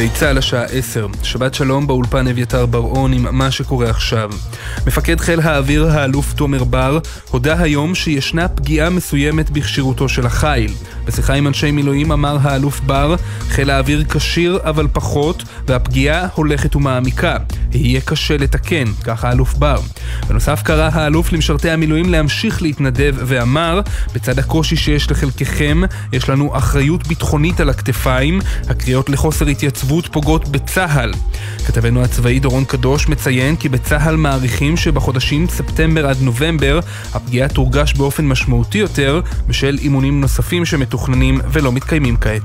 גלי צהל השעה 10, שבת שלום באולפן אביתר בר-און עם מה שקורה עכשיו. מפקד חיל האוויר האלוף תומר בר הודע היום שישנה פגיעה מסוימת בכשירותו של החיל. בשיחה עם אנשי מילואים אמר האלוף בר, חיל האוויר כשיר אבל פחות, והפגיעה הולכת ומעמיקה. יהיה קשה לתקן, כך האלוף בר. בנוסף קרא האלוף למשרתי המילואים להמשיך להתנדב ואמר, בצד הקושי שיש לחלקכם, יש לנו אחריות ביטחונית על הכתפיים, הקריאות לחוסר התייצבות פוגעות בצהל. כתבנו הצבאי דורון קדוש מציין כי בצהל מעריכים שבחודשים ספטמבר עד נובמבר הפגיעה תורגש באופן משמעותי יותר בשל אימונים נוספים שמתוכננים ולא מתקיימים כעת.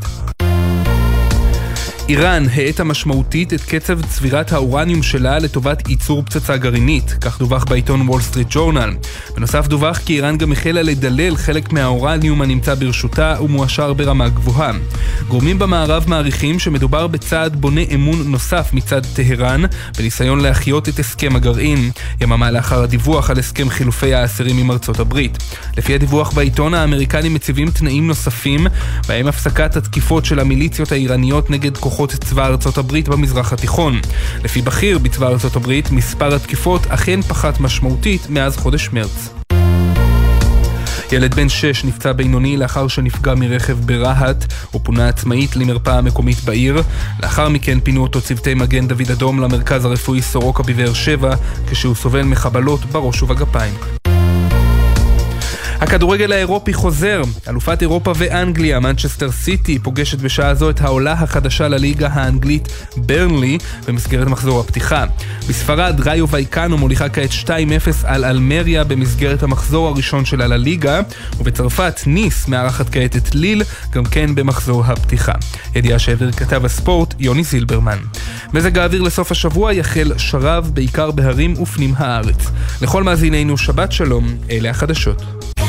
איראן האטה משמעותית את קצב צבירת האורניום שלה לטובת ייצור פצצה גרעינית, כך דווח בעיתון וול סטריט ג'ורנל. בנוסף דווח כי איראן גם החלה לדלל חלק מהאורניום הנמצא ברשותה ומואשר ברמה גבוהה. גורמים במערב מעריכים שמדובר בצעד בונה אמון נוסף מצד טהרן, בניסיון להחיות את הסכם הגרעין, יממה לאחר הדיווח על הסכם חילופי האסירים עם ארצות הברית. לפי הדיווח בעיתון, האמריקנים מציבים תנאים נוספים, בהם הפסקת התקיפות של המיליציות האיראניות נגד כוחות צבא ארצות הברית במזרח התיכון. לפי בכיר בצבא ארצות הברית, מספר התקיפות אכן פחת משמעותית מאז חודש מרץ. ילד בן 6 נפצע בינוני לאחר שנפגע מרכב ברהט ופונה עצמאית למרפאה המקומית בעיר. לאחר מכן פינו אותו צוותי מגן דוד אדום למרכז הרפואי סורוקה בבאר שבע כשהוא סובל מחבלות בראש ובגפיים. הכדורגל האירופי חוזר. אלופת אירופה ואנגליה, מנצ'סטר סיטי, פוגשת בשעה זו את העולה החדשה לליגה האנגלית ברנלי במסגרת מחזור הפתיחה. בספרד, ראיו וייקנו מוליכה כעת 2-0 על אלמריה במסגרת המחזור הראשון שלה לליגה, ובצרפת ניס מארחת כעת את ליל, גם כן במחזור הפתיחה. ידיעה שהעביר כתב הספורט יוני זילברמן. מזג האוויר לסוף השבוע יחל שרב בעיקר בהרים ופנים הארץ. לכל מאזינינו שבת שלום, אלה החדשות.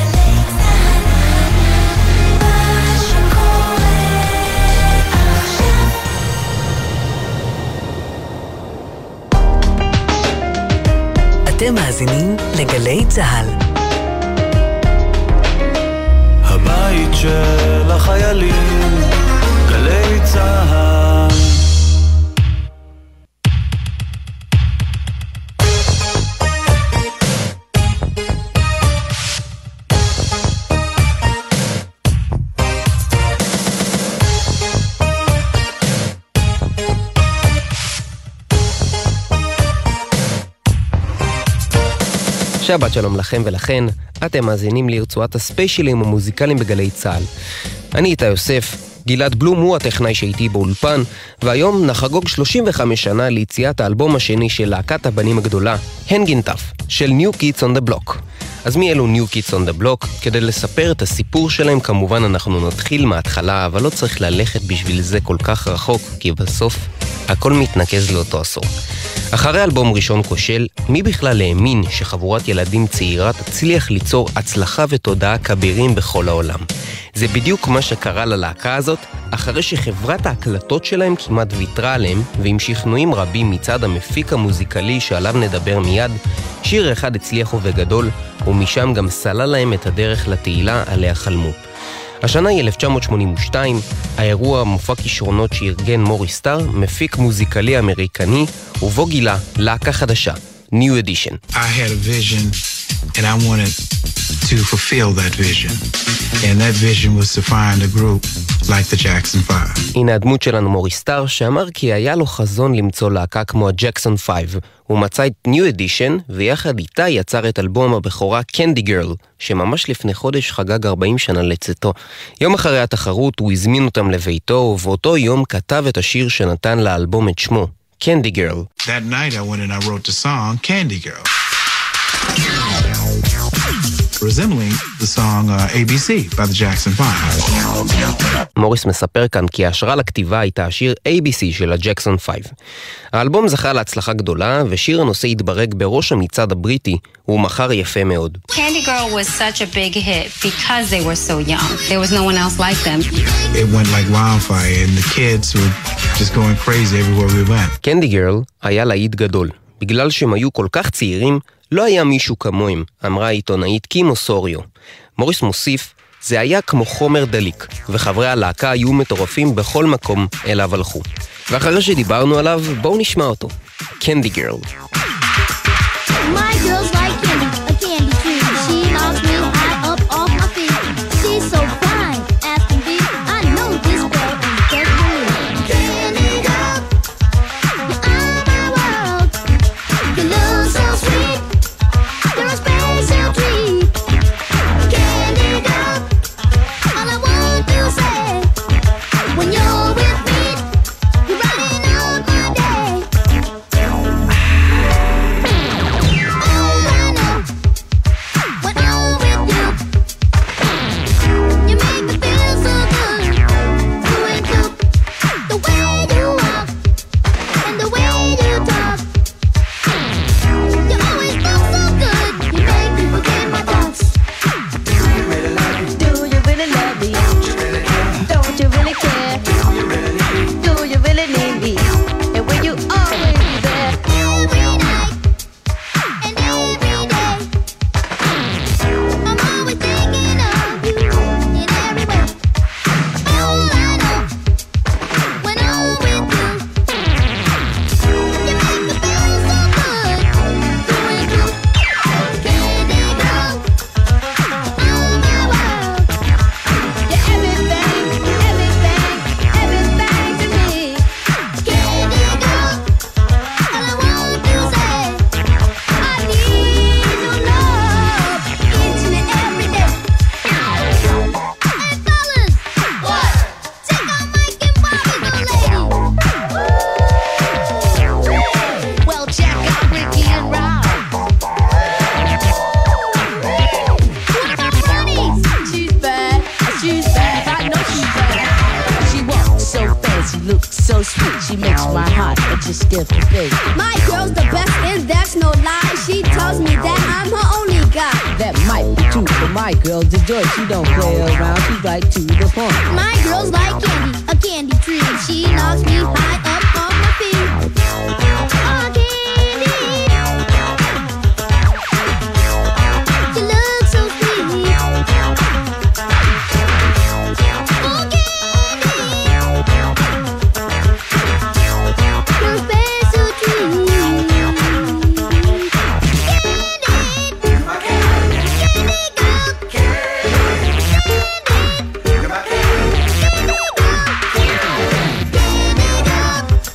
אתם מאזינים לגלי צהל. הבית של החיילים, גלי צהל. שבת שלום לכם ולכן, אתם מאזינים לרצועת הספיישלים המוזיקליים בגלי צהל. אני איתה יוסף, גלעד בלום הוא הטכנאי שהייתי באולפן, והיום נחגוג 35 שנה ליציאת האלבום השני של להקת הבנים הגדולה, Hangin' Tough, של New Kids on the Block. אז מי אלו New Kids on the Block? כדי לספר את הסיפור שלהם כמובן אנחנו נתחיל מההתחלה, אבל לא צריך ללכת בשביל זה כל כך רחוק, כי בסוף הכל מתנקז לאותו עשור. אחרי אלבום ראשון כושל, מי בכלל האמין שחבורת ילדים צעירה תצליח ליצור הצלחה ותודעה כבירים בכל העולם? זה בדיוק מה שקרה ללהקה הזאת, אחרי שחברת ההקלטות שלהם כמעט ויתרה עליהם, ועם שכנועים רבים מצד המפיק המוזיקלי שעליו נדבר מיד, שיר אחד הצליח ובגדול, ומשם גם סלל להם את הדרך לתהילה עליה חלמו. השנה היא 1982, האירוע מופע כישרונות שארגן מוריס סטאר, מפיק מוזיקלי אמריקני, ובו גילה להקה חדשה, New Edition. I had a vision and I wanted to fulfill that vision. And that vision was to find a group like the Jackson 5. הנה הדמות שלנו מוריס סטאר, שאמר כי היה לו חזון למצוא להקה כמו הג'קסון 5. הוא מצא את New Edition, ויחד איתה יצר את אלבום הבכורה Candy Girl, שממש לפני חודש חגג 40 שנה לצאתו. יום אחרי התחרות הוא הזמין אותם לביתו, ובאותו יום כתב את השיר שנתן לאלבום את שמו, Candy Girl. That night I went and I wrote the song Candy Girl. resembling the song ABC by the Jackson 5. מוריס מספר כאן כי ההשראה לכתיבה הייתה השיר ABC של הג'קסון 5. האלבום זכה להצלחה גדולה, ושיר הנושא התברג בראש המצעד הבריטי, הוא מכר יפה מאוד. Candy Girl was such a big hit because they were so young. There was no one else like them. It went like wildfire and the kids were just going crazy everywhere we went. Candy Girl היה להיט גדול. בגלל שהם היו כל כך צעירים, לא היה מישהו כמוהם, אמרה העיתונאית קים אוסוריו. מוריס מוסיף, זה היה כמו חומר דליק, וחברי הלהקה היו מטורפים בכל מקום אליו הלכו. ואחרי שדיברנו עליו, בואו נשמע אותו. קנדי גרל. My girl's like candy, a candy tree. She knocks me high up off my feet. She's so fine, as can be. I know this girl is just for me. Candy girl, you are my world. You look so sweet, you're a special treat. Candy girl, all I want to say, when you're with me, you're brighten up my day. My girl's the best and that's no lie. She tells me that I'm her only guy. That might be true, but my girl's the joy. She don't play around, she's right to the point. My girl's like candy, a candy tree. She knocks me high up off my feet. Oh, candy, you look so sweet. Oh, candy, you're a special treat. Candy girl,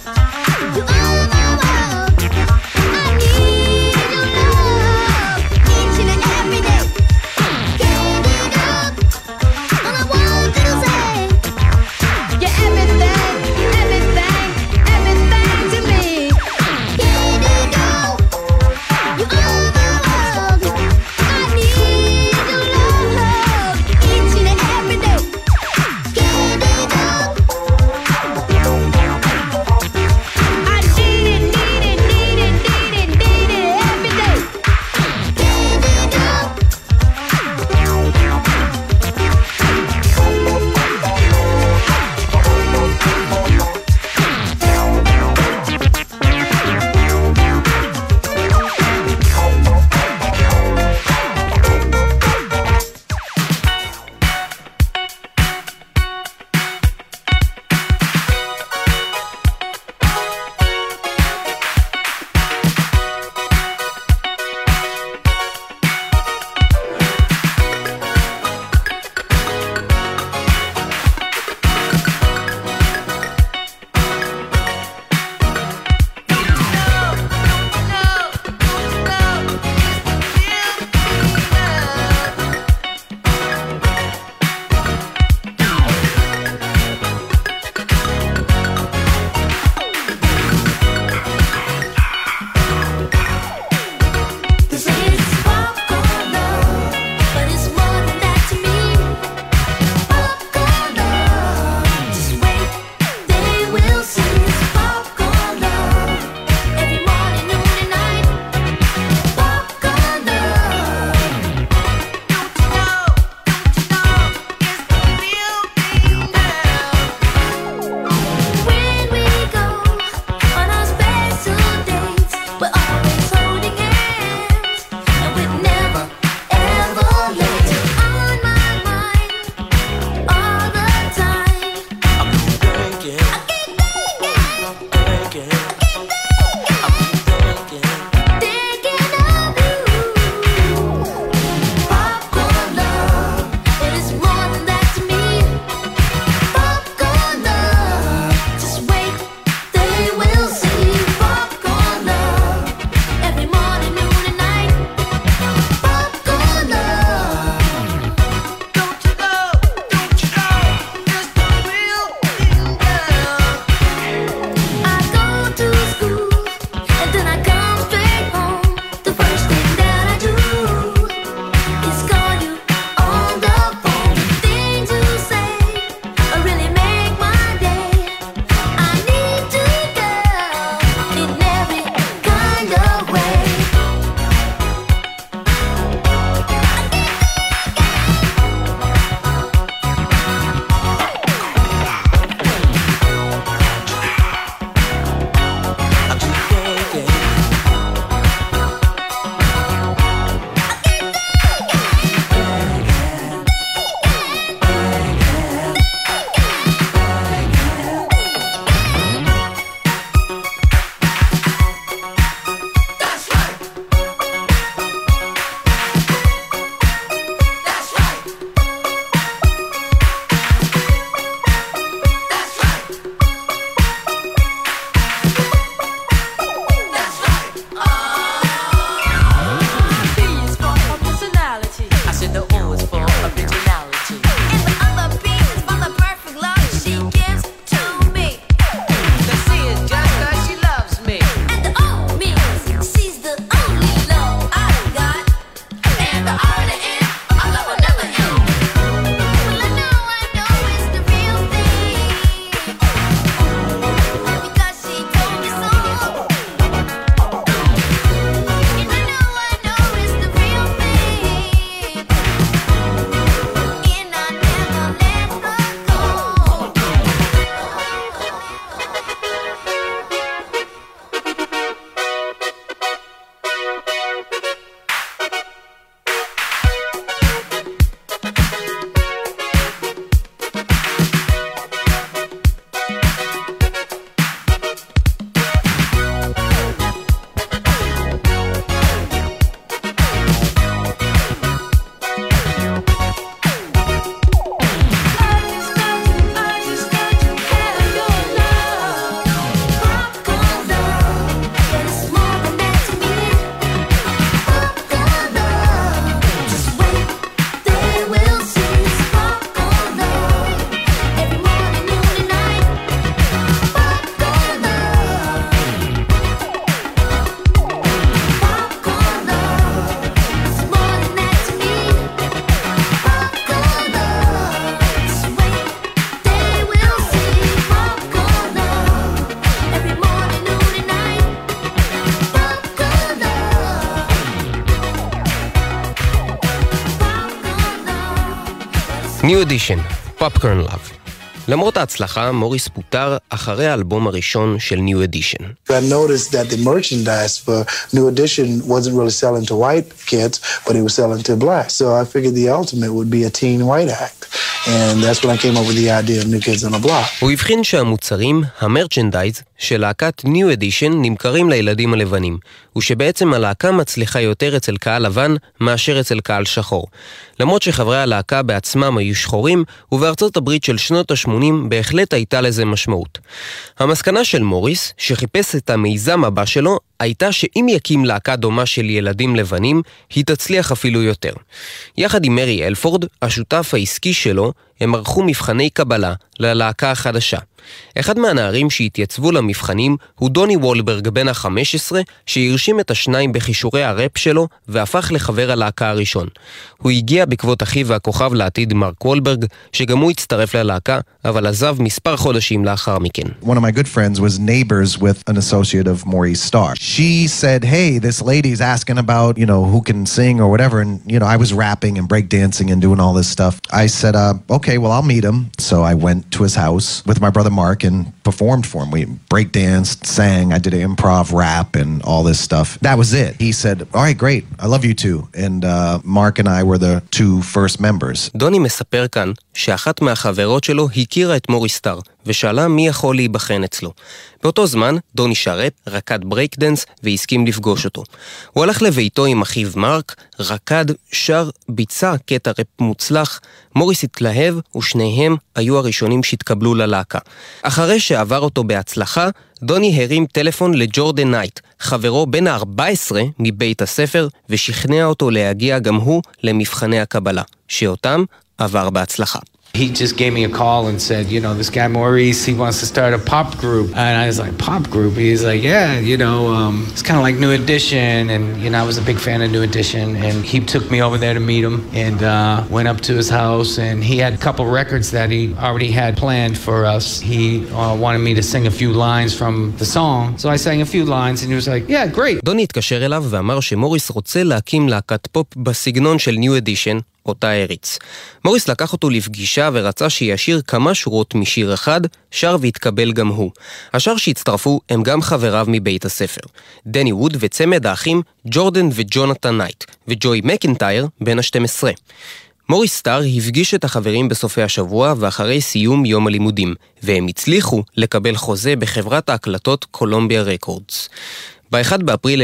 New Edition, Popcorn Love. למרות ההצלחה, מוריס פוטר אחרי האלבום הראשון של New Edition. I noticed that the merchandise for New Edition wasn't really selling to white kids, but it was selling to black. So I figured the ultimate would be a teen white act. And that's when I came up with the idea of New Kids on the Block. הוא הבחין שהמוצרים, המרצ'נדייז, של להקת New Edition נמכרים לילדים הלבנים, ושבעצם הלהקה מצליחה יותר אצל קהל לבן מאשר אצל קהל שחור. למרות שחברי הלהקה בעצמם היו שחורים, ובארצות הברית של שנות ה-80 בהחלט הייתה לזה משמעות. המסקנה של מוריס, שחיפש את המיזם הבא שלו, הייתה שאם יקים להקה דומה של ילדים לבנים, היא תצליח אפילו יותר. יחד עם מרי אלפורד, השותף העסקי שלו, הם ערכו מבחני קבלה ללהקה החדשה. אחד מהנערים שהתייצבו למבחנים הוא דוני וולברג בן ה-15, שהרשים את השניים בחישורי הראפ שלו והפך לחבר הלהקה הראשון. הוא הגיע בעקבות אחיו והכוכב לעתיד מרק וולברג, שגם הוא הצטרף ללהקה, אבל עזב מספר חודשים לאחר מכן. One of my good friends was neighbors with an associate of Maurice Starr. She said, hey, this lady's asking about, who can sing or whatever, and, I was rapping and breakdancing and doing all this stuff. I said, okay, well, I'll meet him. So I went to his house with my brother Mark and performed for him. We breakdanced, sang, I did an improv rap and all this stuff. That was it. He said, all right, great, I love you too. And Mark and I were the two first members. דוני מספר כאן שאחת מהחברות שלו הכירה את מוריס סטאר, ושאלה מי יכול להיבחן אצלו. באותו זמן, דוני שרת, רקד ברייקדנס, והסכים לפגוש אותו. הוא הלך לביתו עם אחיו מרק, רקד, שר, ביצע קטע רפ מוצלח, מוריס התלהב, ושניהם היו הראשונים שהתקבלו ללהקה. אחרי שעבר אותו בהצלחה, דוני הרים טלפון לג'ורדן נייט, חברו בן ה-14 מבית הספר, ושכנע אותו להגיע גם הוא למבחני הקבלה, שאותם עבר בהצלחה. He just gave me a call and said, this guy Maurice, he wants to start a pop group. And I was like, pop group? He's like, yeah, it's kind of like New Edition. And, I was a big fan of New Edition. And he took me over there to meet him and went up to his house. And he had a couple records that he already had planned for us. He wanted me to sing a few lines from the song. So I sang a few lines and he was like, yeah, great. דוני התקשר אליו ואמר שמוריס רוצה להקים להקת פופ בסגנון של New Edition, אותה הריץ. מוריס לקח אותו לפגישה ורצה שישיר כמה שורות משיר אחד, שר והתקבל גם הוא. השאר שהצטרפו הם גם חבריו מבית הספר. דני ווד וצמד האחים ג'ורדן וג'ונתן נייט, וג'וי מקינטייר בן ה-12. מוריס סטאר הפגיש את החברים בסופי השבוע ואחרי סיום יום הלימודים, והם הצליחו לקבל חוזה בחברת ההקלטות קולומביה רקורדס. ב-1 באפריל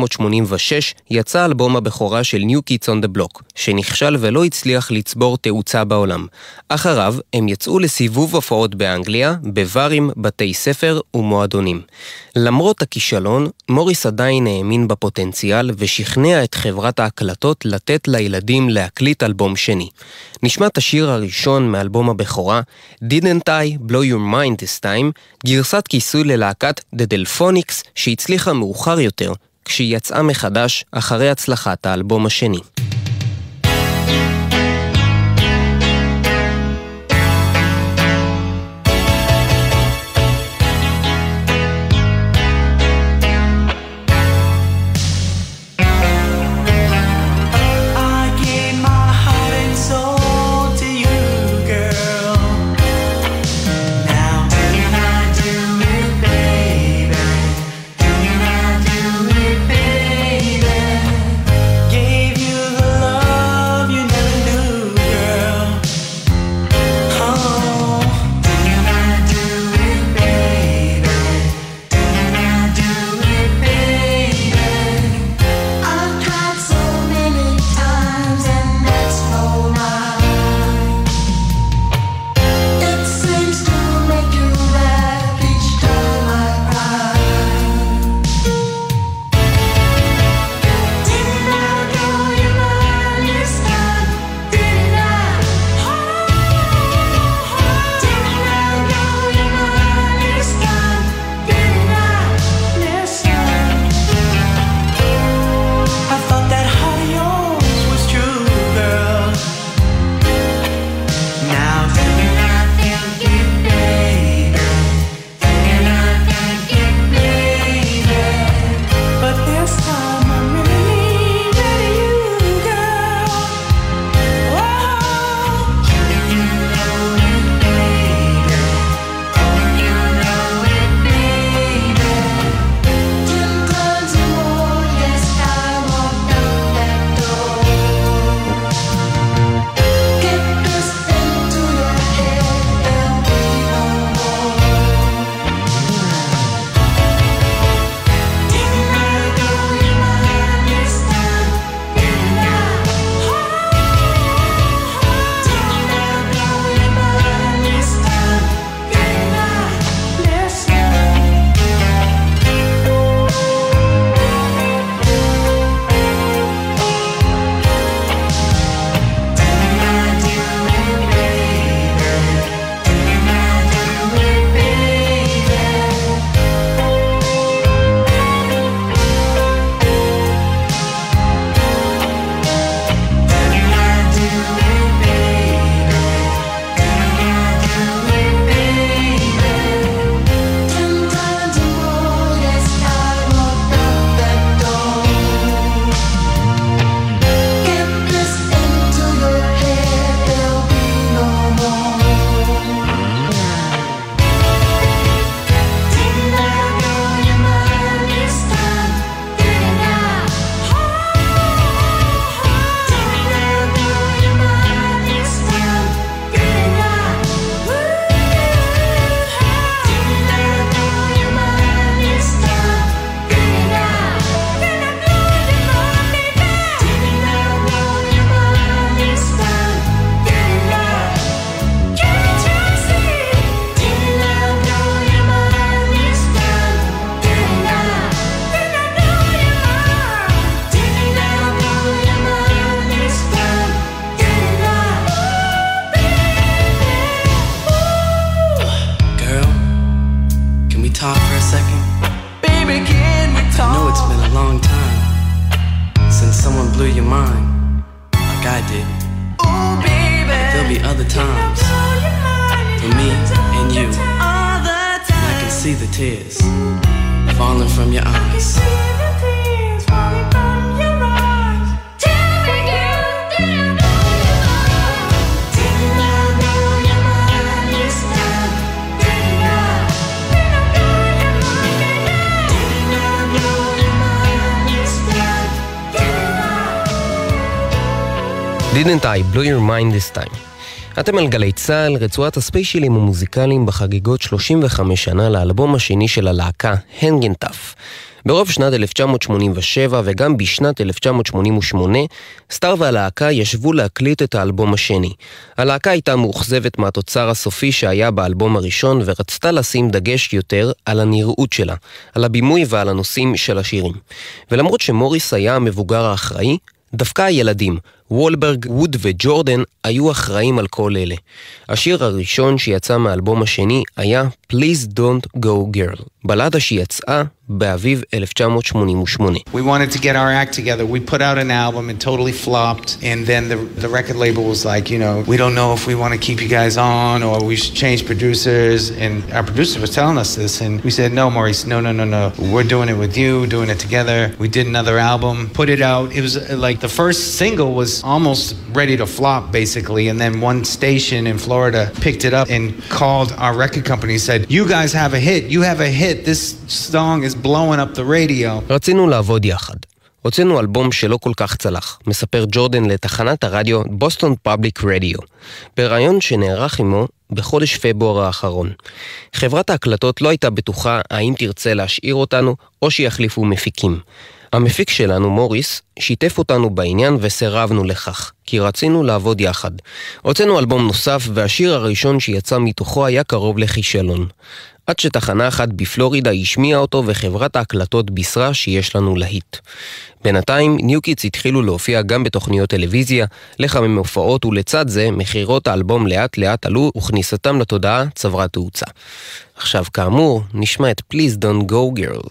1986 יצא אלבום הבכורה של New Kids on the Block, שנכשל ולא הצליח לצבור תאוצה בעולם. אחריו הם יצאו לסיבוב הופעות באנגליה, בברים, בתי ספר ומועדונים. למרות הכישלון, מוריס עדיין האמין בפוטנציאל ושכנע את חברת ההקלטות לתת לילדים להקליט אלבום שני. נשמע את השיר הראשון מאלבום הבכורה, Didn't I Blow Your Mind This Time, גרסת כיסוי ללהקת The Delphonics שהצליחה מאוחר יותר, כשהיא יצאה מחדש אחרי הצלחת האלבום השני. Gave you mind like I did. There'll be other times for me and you, and I can see the tears falling from your eyes. Didn't I blow your mind this time? אתם על גלי צהל, רצועת הספיישלים המוזיקליים בחגיגות 35 שנה לאלבום השני של הלהקה, Hangin' Tough. ברוב שנת 1987 וגם בשנת 1988, סטאר והלהקה ישבו להקליט את האלבום השני. הלהקה הייתה מאוכזבת מהתוצר הסופי שהיה באלבום הראשון ורצתה לשים דגש יותר על הנראות שלה, על הבימוי ועל הנושאים של השירים. ולמרות שמוריס היה המבוגר האחראי, דווקא הילדים, וולברג, ווד וג'ורדן, היו אחראים על כל אלה. השיר הראשון שיצא מהאלבום השני היה Please Don't Go Girl, בלדה שיצאה באביב 1988. We wanted to get our act together. We put out an album and totally flopped. And then the record label was like, you know, we don't know if we want to keep you guys on or we should change producers. And our producer was telling us this. And we said, no, Maurice, no. We're doing it with you, doing it together. We did another album, put it out. It was like the first single was almost ready to flop, basically. And then one station in Florida picked it up and called our record company and said, you guys have a hit. You have a hit. This song is blowing up the radio. רצינו לעבוד יחד. הוצאנו אלבום שלא כל כך צלח, מספר ג'ורדן לתחנת הרדיו בוסטון פאבליק רדיו, ברעיון שנערך עמו בחודש פברואר האחרון. חברת ההקלטות לא הייתה בטוחה האם תרצה להשאיר אותנו או שיחליפו מפיקים. המפיק שלנו, מוריס, שיתף אותנו בעניין וסירבנו לכך, כי רצינו לעבוד יחד. הוצאנו אלבום נוסף והשיר הראשון שיצא מתוכו היה קרוב לכישלון. עד שתחנה אחת בפלורידה השמיעה אותו וחברת ההקלטות בישרה שיש לנו להיט. בינתיים ניוקיץ התחילו להופיע גם בתוכניות טלוויזיה, לחמם הופעות ולצד זה מחירות האלבום לאט לאט עלו וכניסתם לתודעה צברה תאוצה. עכשיו כאמור נשמע את Please Don't Go Girl.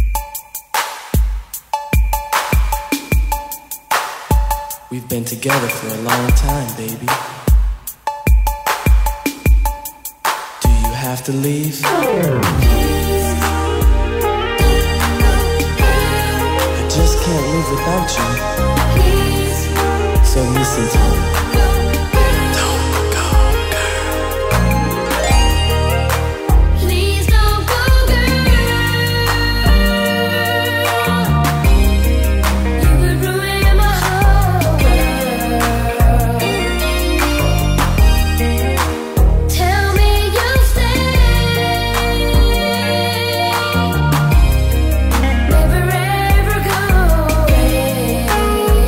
We've been together for a long time, baby. Do you have to leave? I just can't live without you. So listen to me. Never ever go away.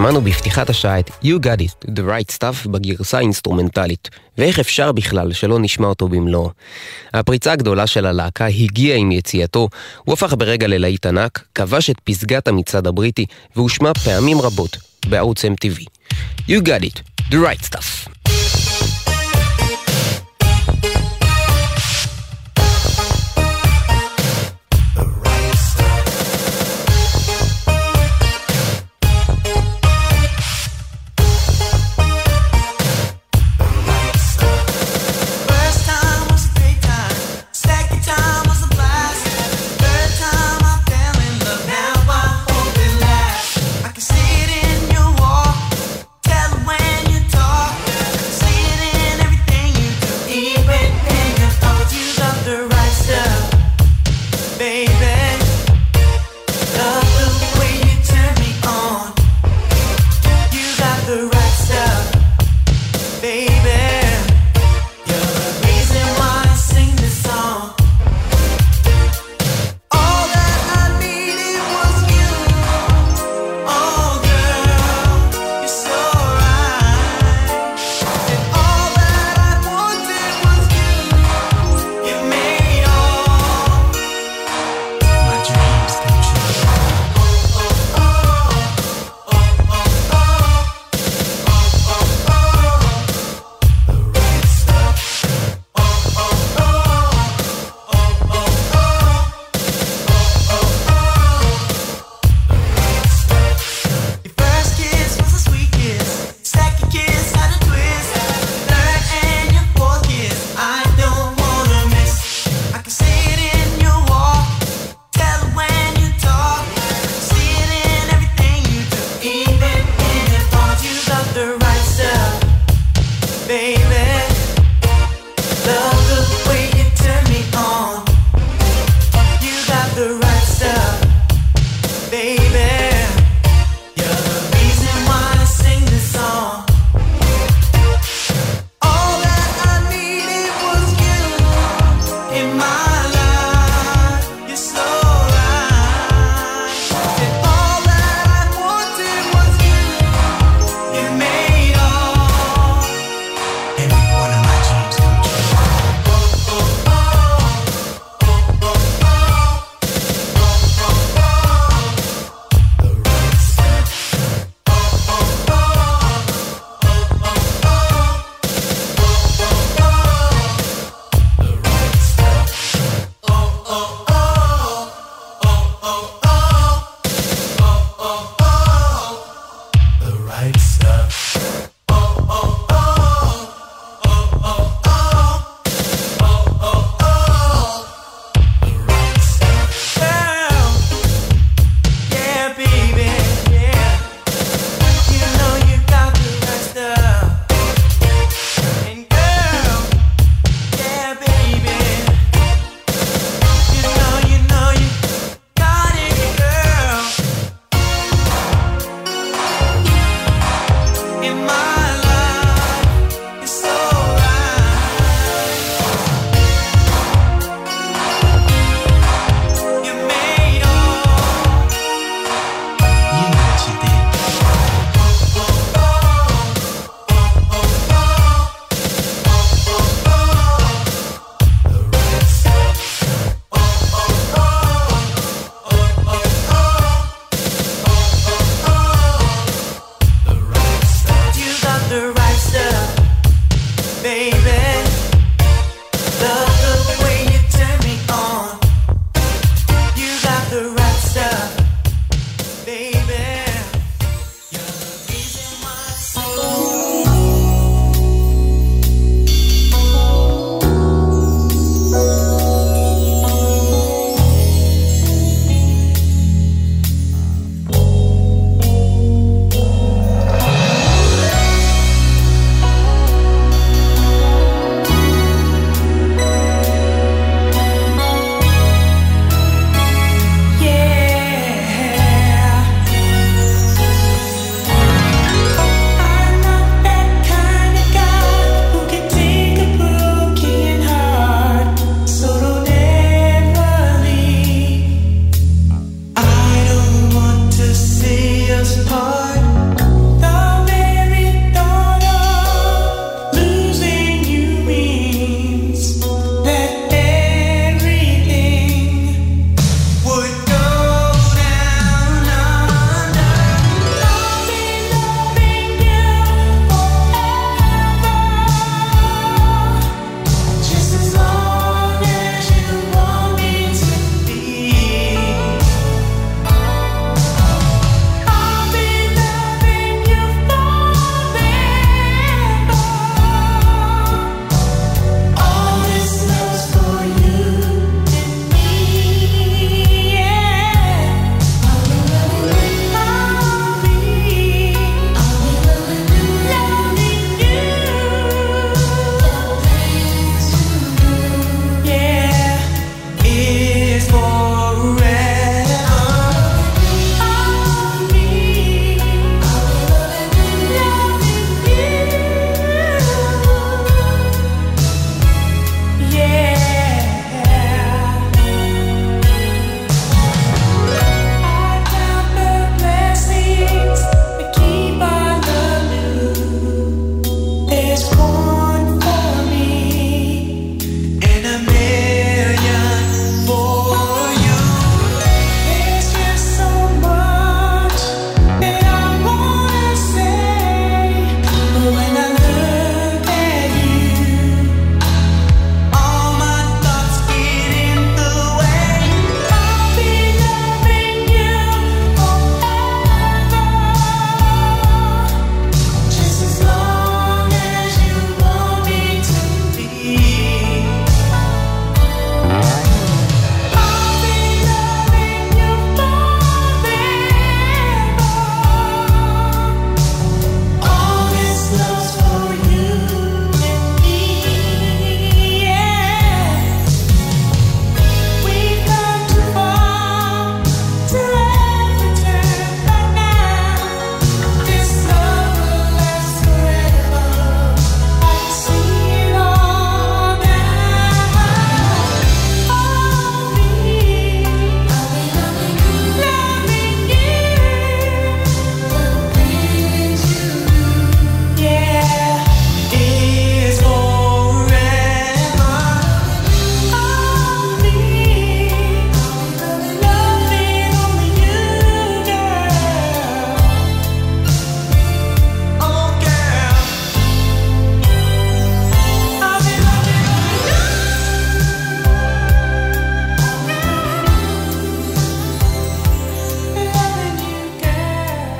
שמענו בפתיחת השעה את You Got It, The Right Stuff בגרסה האינסטרומנטלית, ואיך אפשר בכלל שלא נשמע אותו במלואו. הפריצה הגדולה של הלהקה הגיעה עם יציאתו, הוא הפך ברגע ללהיט ענק, כבש את פסגת המצעד הבריטי, והושמע פעמים רבות בערוץ MTV. You Got It, The Right Stuff.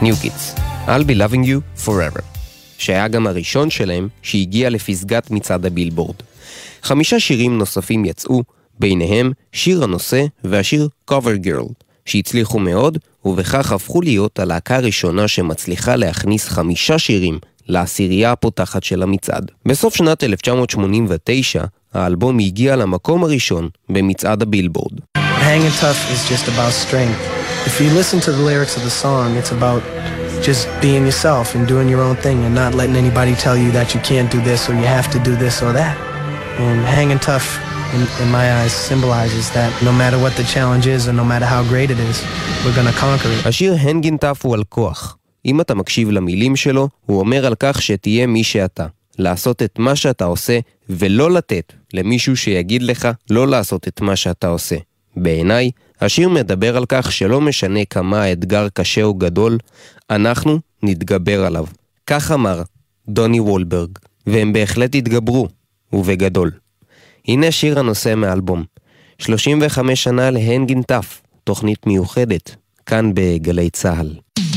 New Kids, I'll be loving you forever, שהיה גם הראשון שלהם שהגיע לפסגת מצעד הבילבורד. 5 שירים נוספים יצאו, ביניהם שיר הנושא והשיר Cover Girl, שהצליחו מאוד ובכך הפכו להיות הלהקה הראשונה שמצליחה להכניס 5 שירים לעשירייה הפותחת של המצעד. בסוף שנת 1989 האלבום הגיע למקום הראשון במצעד הבילבורד. Hanging Tough is just about strength. If you listen to the lyrics of the song, it's about just being yourself and doing your own thing and not letting anybody tell you that you can't do this or you have to do this or that. And Hanging Tough, in my eyes, symbolizes that no matter what the challenge is or no matter how great it is, we're gonna conquer it. השיר Hanging Tough הוא על כוח. אם אתה מקשיב למילים שלו, הוא אומר על כך שתהיה מי שאתה. לעשות את מה שאתה עושה ולא לתת למישהו שיגיד לך לא לעשות את מה שאתה עושה. בעיניי, השיר מדבר על כך שלא משנה כמה האתגר קשה או גדול, אנחנו נתגבר עליו. כך אמר דוני וולברג, והם בהחלט התגברו, ובגדול. הנה שיר הנושא מאלבום. 35 שנה להנגין טף, תוכנית מיוחדת, כאן בגלי צהל.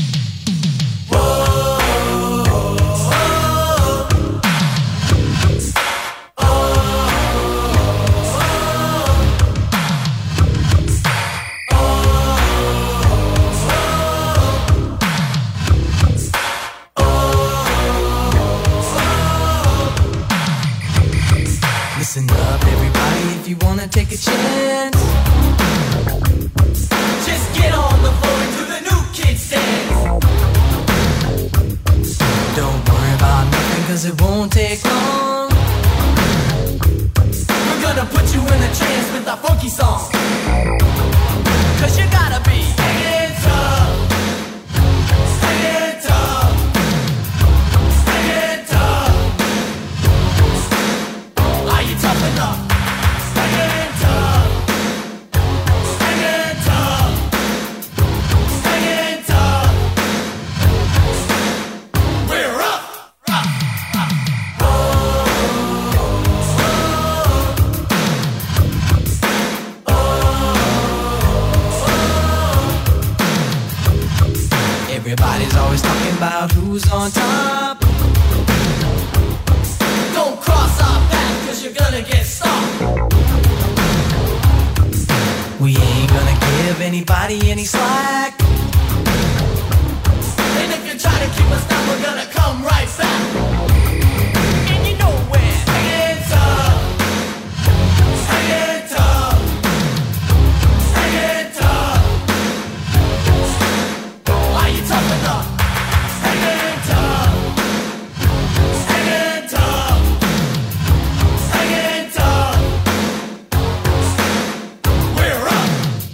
Listen up, everybody, if you wanna take a chance. Just get on the floor and do the New Kids dance. Don't worry about nothing, cause it won't take long. We're gonna put you in a trance with our funky song. Cause you gotta be hanging tough. Hanging tough. Hanging tough. Are you tough enough? Hanging tough. Hanging tough. Hanging tough. We're up. Everybody's always talking about who's on top. Don't cross our path, cause you're gonna get stopped. We ain't gonna give anybody any slack. And if you try to keep us down, we're gonna come right back. And you know we're hanging tough. Hanging tough. Hanging tough. Are you tough enough? Hanging tough. Hanging tough. Hanging tough. We're up.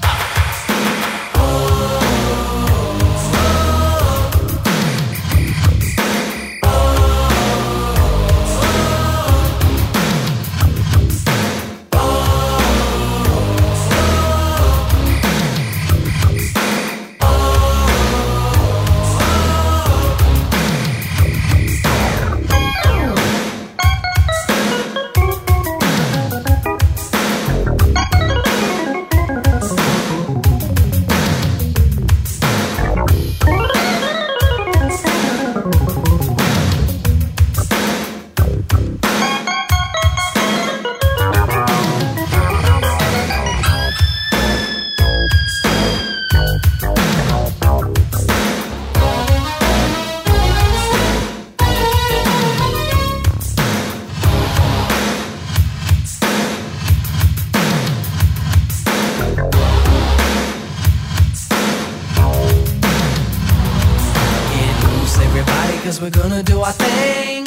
We're gonna do our thing.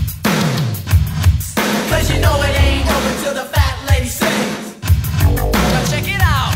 Cause you know it ain't over till the fat lady sings. Now check it out.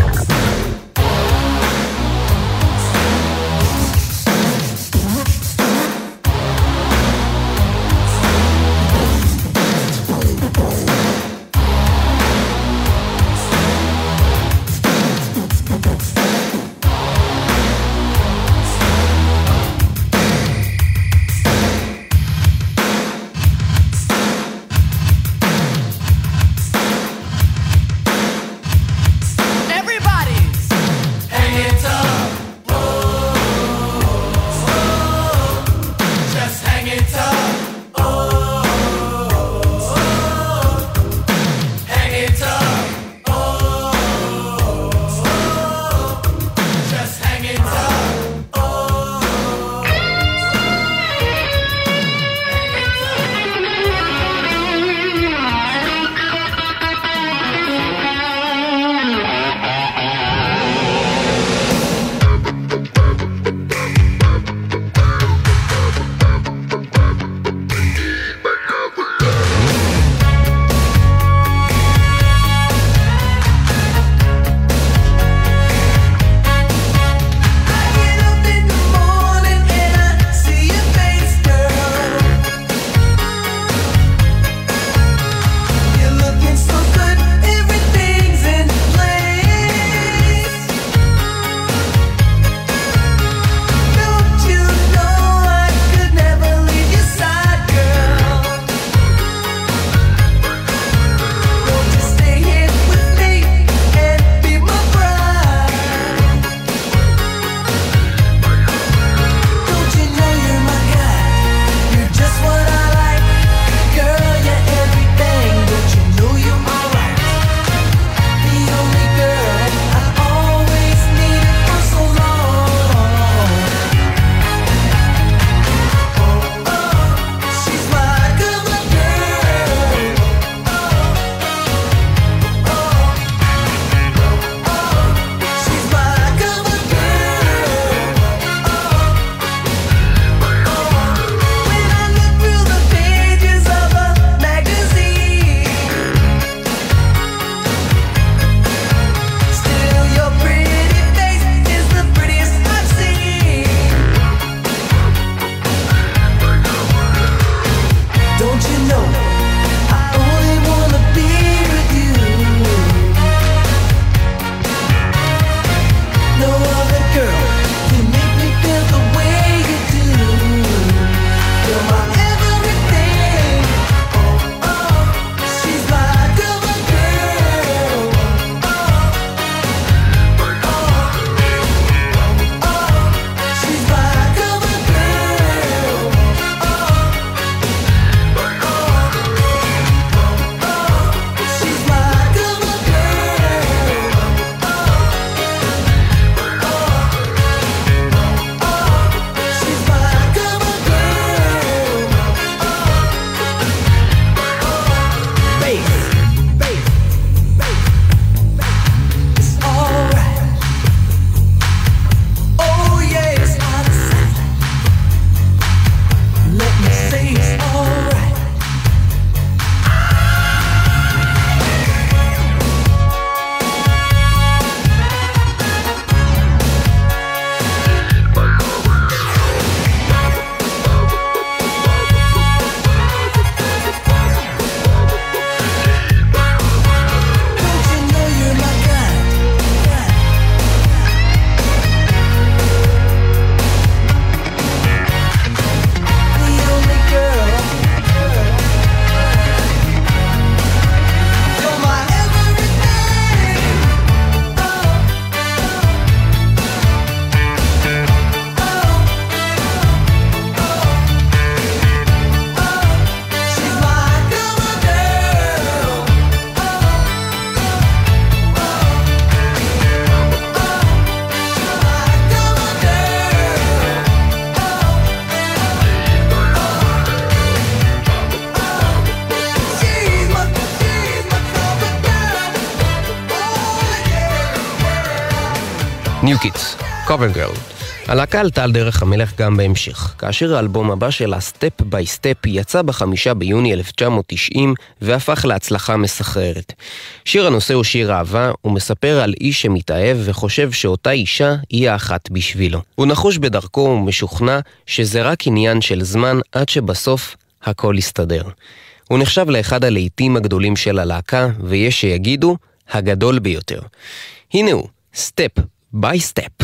New Kids, Cover Girl. הלהקה עלתה על דרך המלך גם בהמשך, כאשר האלבום הבא שלה, Step by Step, יצא ב5 ביוני 1990 והפך להצלחה מסחררת. שיר הנושא הוא שיר אהבה, הוא מספר על איש שמתאהב וחושב שאותה אישה היא האחת בשבילו. הוא נחוש בדרכו ומשוכנע שזה רק עניין של זמן עד שבסוף הכל יסתדר. הוא נחשב לאחד הלהיטים הגדולים של הלהקה, ויש שיגידו הגדול ביותר. הנה הוא, Step by Step.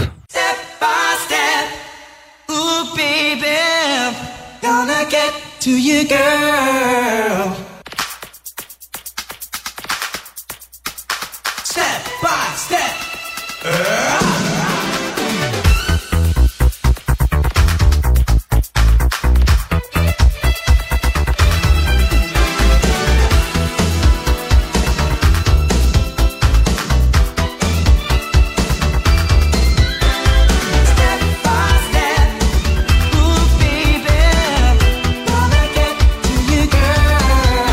Baby, gonna get to you, girl. Step by step. Girl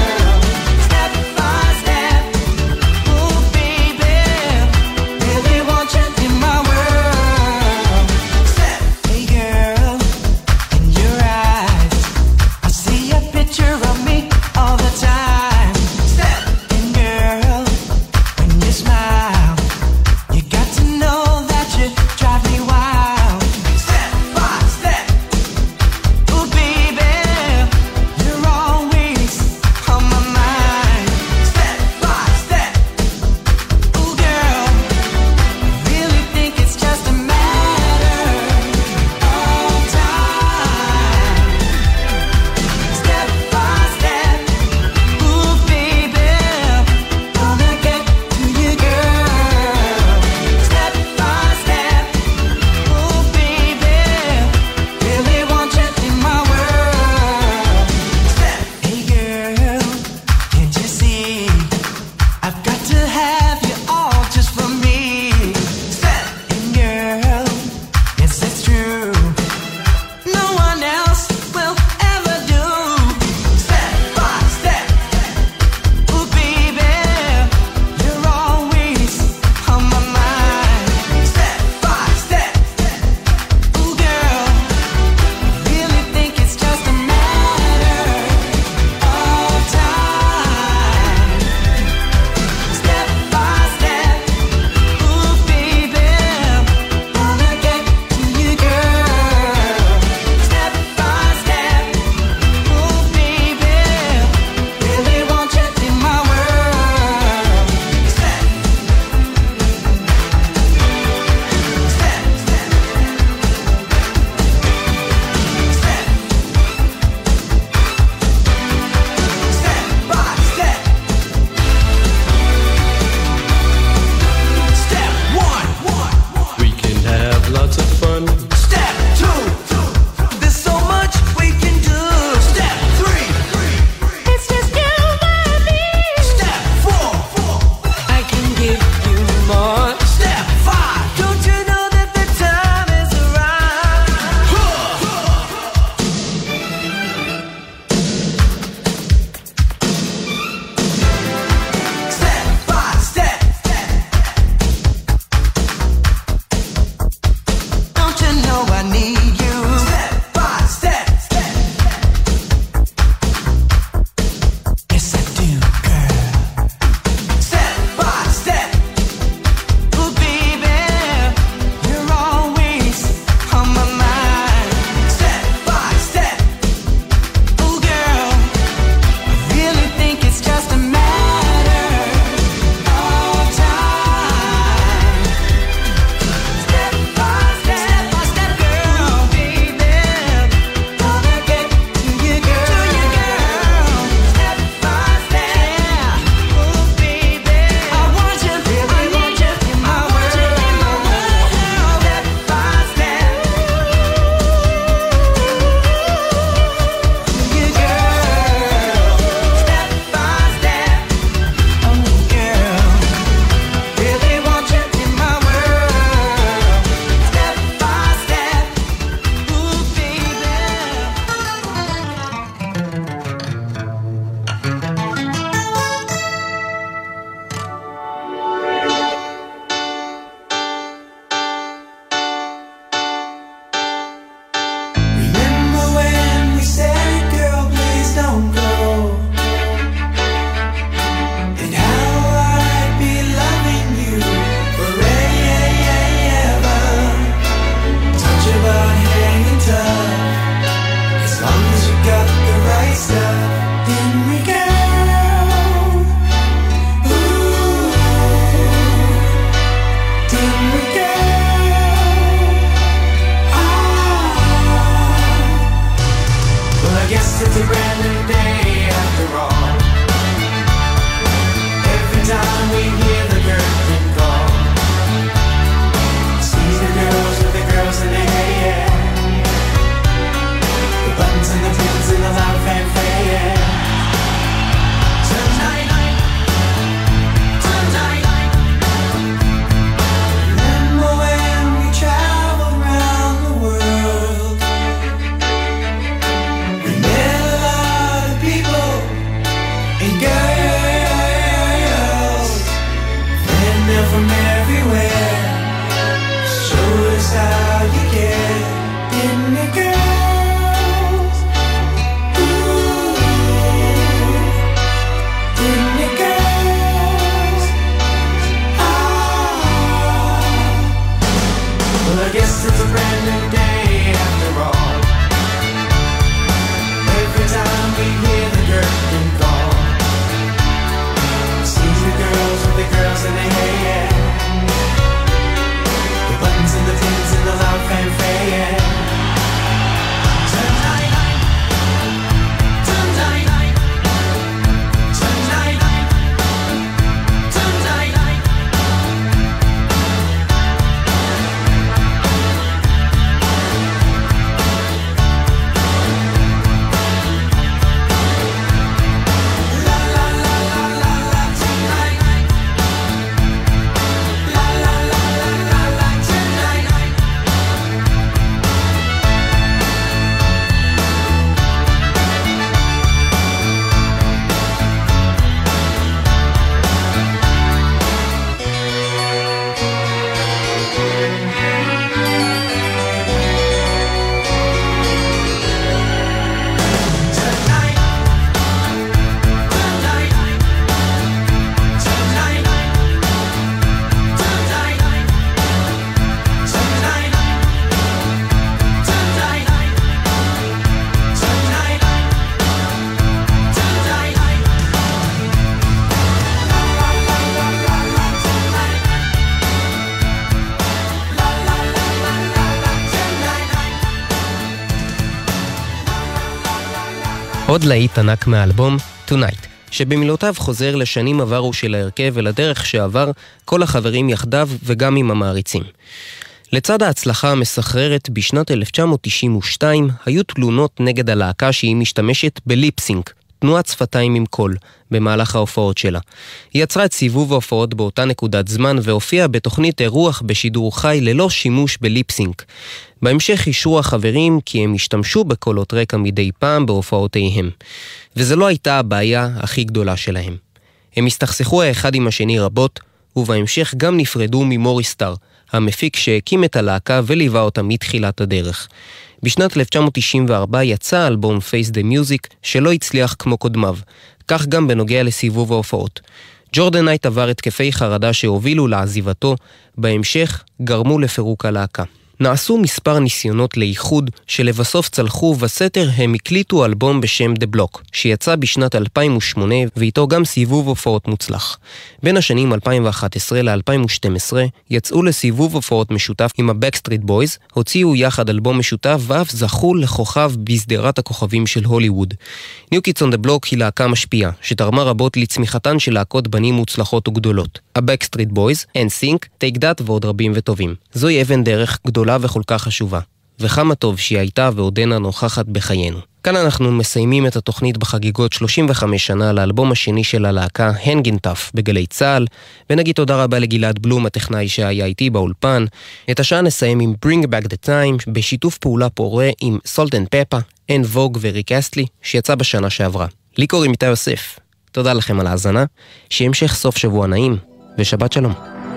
עוד להיט ענק מהאלבום, Tonight, שבמילותיו חוזר לשנים עברו של ההרכב ולדרך שעבר כל החברים יחדיו וגם עם המעריצים. לצד ההצלחה המסחררת בשנת 1992 היו תלונות נגד הלהקה שהיא משתמשת בליפסינק, תנועת שפתיים עם קול, במהלך ההופעות שלה. היא יצרה את סיבוב ההופעות באותה נקודת זמן והופיעה בתוכנית אירוח בשידור חי ללא שימוש בליפסינק. בהמשך אישרו החברים כי הם השתמשו בקולות רקע מדי פעם בהופעותיהם. וזו לא הייתה הבעיה הכי גדולה שלהם. הם הסתכסכו האחד עם השני רבות, ובהמשך גם נפרדו ממוריס סטאר, המפיק שהקים את הלהקה וליווה אותה מתחילת הדרך. בשנת 1994 יצא אלבום Face the Music שלא הצליח כמו קודמיו, כך גם בנוגע לסיבוב ההופעות. ג'ורדן נייט עבר התקפי חרדה שהובילו לעזיבתו, בהמשך גרמו לפירוק הלהקה. נעשו מספר ניסיונות לאיחוד שלבסוף צלחו, בסתר הם הקליטו אלבום בשם The Block, שיצא בשנת 2008 ואיתו גם סיבוב הופעות מוצלח. בין השנים 2011 ל-2012 יצאו לסיבוב הופעות משותף עם ה-Backstreet Boys, הוציאו יחד אלבום משותף ואף זכו לכוכב בסדרת הכוכבים של הוליווד. New Kids on the Block היא להקה משפיעה, שתרמה רבות לצמיחתן של להקות בנים מוצלחות וגדולות. ה-Backstreet Boys, NSYNC, Take That ועוד רבים וטובים. זוהי אבן דרך גדולה וכל כך חשובה, וכמה טוב שהיא הייתה ועודנה נוכחת בחיינו. כאן אנחנו מסיימים את התוכנית בחגיגות 35 שנה לאלבום השני של הלהקה, Hangin' Tough, בגלי צהל, ונגיד תודה רבה לגלעד בלום, הטכנאי שהיה איתי באולפן. את השעה נסיים עם Bring Back the Time, בשיתוף פעולה פורה עם Salt and Pepper, אין ווג וריק אסטלי, שיצא בשנה שעברה. לי קוראים איתי יוסף. תודה לכם על ההאזנה, שהמשך סוף שבוע נעים, ושבת שלום.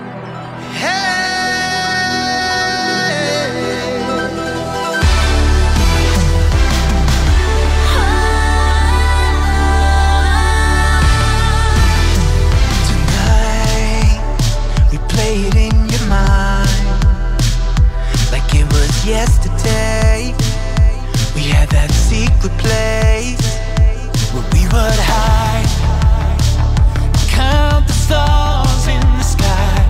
Yesterday, we had that secret place where we would hide, count the stars in the sky.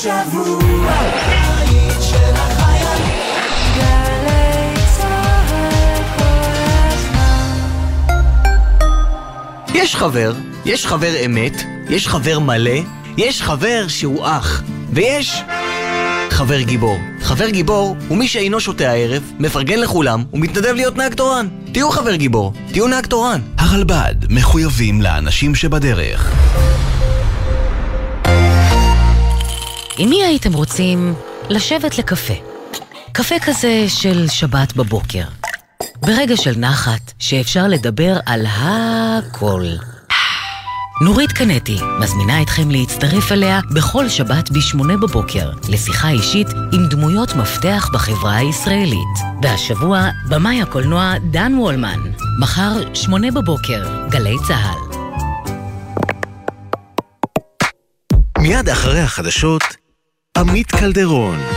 שבוע, הבית של החיילים. גלי צהל כל הזמן. יש חבר אמת, יש חבר מלא, יש חבר שהוא אח, ויש חבר גיבור. חבר גיבור הוא מי שאינו שותה הערב, מפרגן לכולם ומתנדב להיות נהג תורן. תהיו חבר גיבור, תהיו נהג תורן. הרלב"ד מחויבים לאנשים שבדרך. עם מי הייתם רוצים לשבת לקפה? קפה כזה של שבת בבוקר. ברגע של נחת שאפשר לדבר על הכל. נורית קנטי מזמינה אתכם להצטרף אליה בכל שבת ב8 בבוקר לשיחה אישית עם דמויות מפתח בחברה הישראלית. והשבוע במאי הקולנוע דן וולמן. מחר 8 בבוקר, גלי צהל. מיד אחרי החדשות, עמית קלדרון.